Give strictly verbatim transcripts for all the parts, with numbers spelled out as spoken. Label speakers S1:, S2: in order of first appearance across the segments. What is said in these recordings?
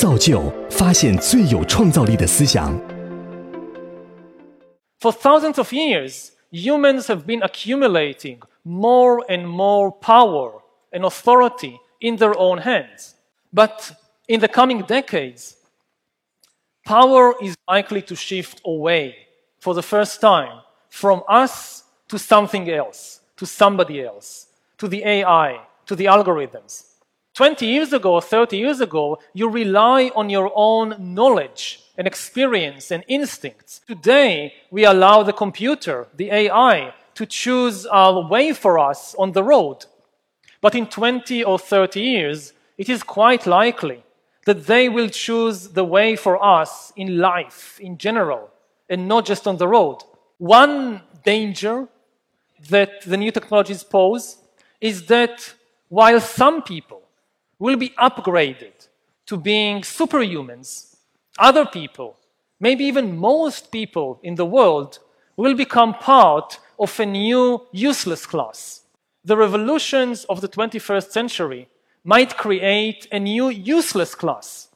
S1: 造就发现最有创造力的思想。
S2: For thousands of years, humans have been accumulating more and more power and authority in their own hands. But in the coming decades, power is likely to shift away for the first time from us to something else, to somebody else, to the A I, to the algorithms. twenty years ago or thirty years ago, you rely on your own knowledge and experience and instincts. Today, we allow the computer, the A I, to choose our way for us on the road. But in twenty or thirty years, it is quite likely that they will choose the way for us in life in general, and not just on the road. One danger that the new technologies pose is that while some people will be upgraded to being superhumans, other people, maybe even most people in the world, will become part of a new useless class. The revolutions of the twenty-first century might create a new useless class.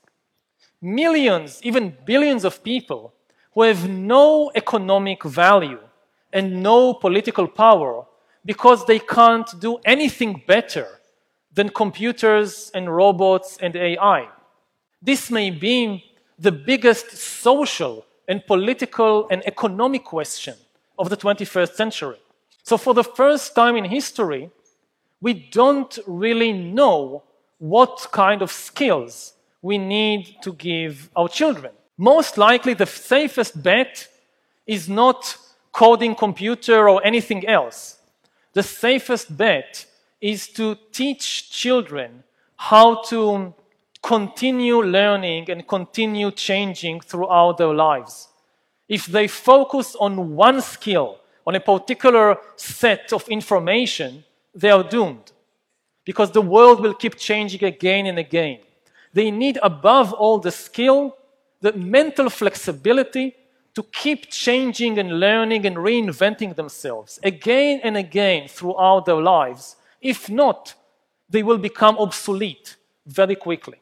S2: Millions, even billions of people who have no economic value and no political power because they can't do anything better than computers and robots and A I. This may be the biggest social and political and economic question of the twenty-first century. So for the first time in history, we don't really know what kind of skills we need to give our children. Most likely the safest bet is not coding computer or anything else. The safest bet is to teach children how to continue learning and continue changing throughout their lives. If they focus on one skill, on a particular set of information, they are doomed, because the world will keep changing again and again. They need, above all, the skill, the mental flexibility to keep changing and learning and reinventing themselves again and again throughout their lives. If not, they will become obsolete very quickly.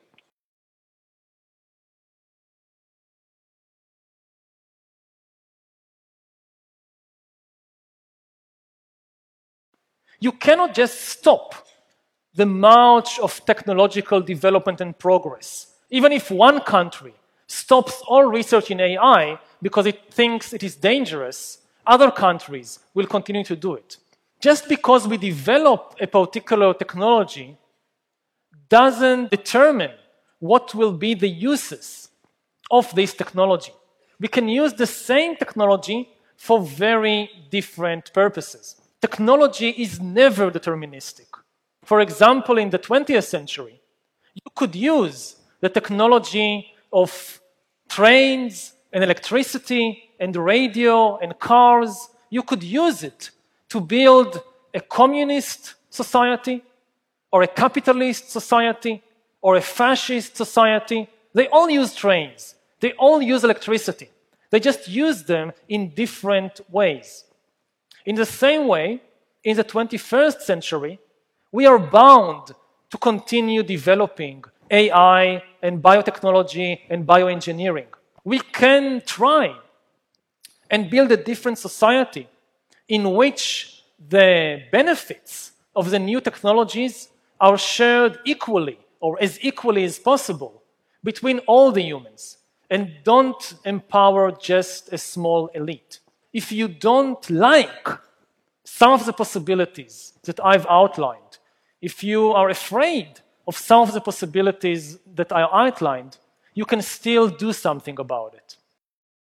S2: You cannot just stop the march of technological development and progress. Even if one country stops all research in A I because it thinks it is dangerous, other countries will continue to do it. Just because we develop a particular technology doesn't determine what will be the uses of this technology. We can use the same technology for very different purposes. Technology is never deterministic. For example, in the twentieth century, you could use the technology of trains and electricity and radio and cars. You could use it to build a communist society or a capitalist society or a fascist society. They all use trains. They all use electricity. They just use them in different ways. In the same way, in the twenty-first century, we are bound to continue developing A I and biotechnology and bioengineering. We can try and build a different society in which the benefits of the new technologies are shared equally, or as equally as possible, between all the humans, and don't empower just a small elite. If you don't like some of the possibilities that I've outlined, if you are afraid of some of the possibilities that I outlined, you can still do something about it.